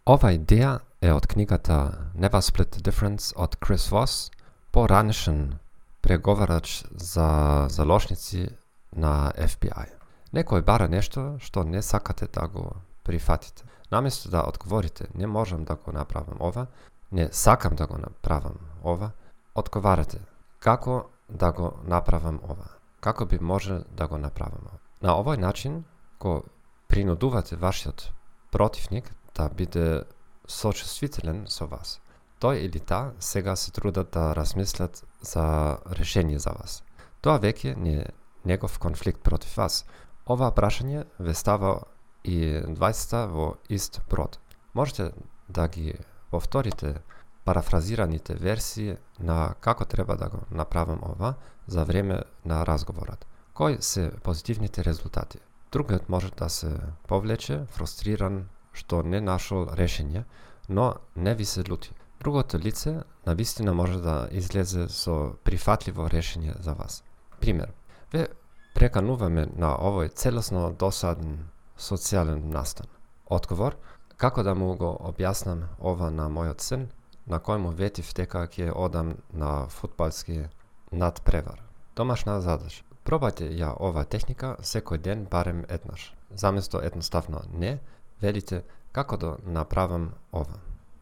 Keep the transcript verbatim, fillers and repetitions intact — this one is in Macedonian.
Ova ideja je od knjigata Never Split the Difference od Chris Voss, poranішен pregovarač za založnici na F B I. Neko bara nešto što ne sakate da go prihvatite. Namjesto da odgovorite ne možem da go napravim ova, ne sakam da go napravim ova, odgovarate kako da go napravim ova, kako bi može da go napravim ova. Na ovaj način ko prinuduvate vašeg protivnik da bude sočustvitelен so vas. Той или та сега се трудат да размислят за решение за вас. Тоа веќе не е негов конфликт против вас. Ова прашање ве става и дваесетта во ист брод. Можете да ги повторите парафразираните версии на како треба да го направам ова за време на разговорот. Кои се позитивните резултати? Другиот може да се повлече, фрустриран, што не нашол решение, но не ви се лути. Другото лице навистина може да излезе со прифатливо решение за вас. Пример. Ве прекануваме на овој целосно досаден социјален настан. Одговор. Како да му го објаснам ова на мојот син, на кој му ветив дека ќе одам на фудбалски надпревар. Домашна задача. Пробајте ја ова техника секој ден барем еднаш. Заместо едноставно не, велите како да направам ова.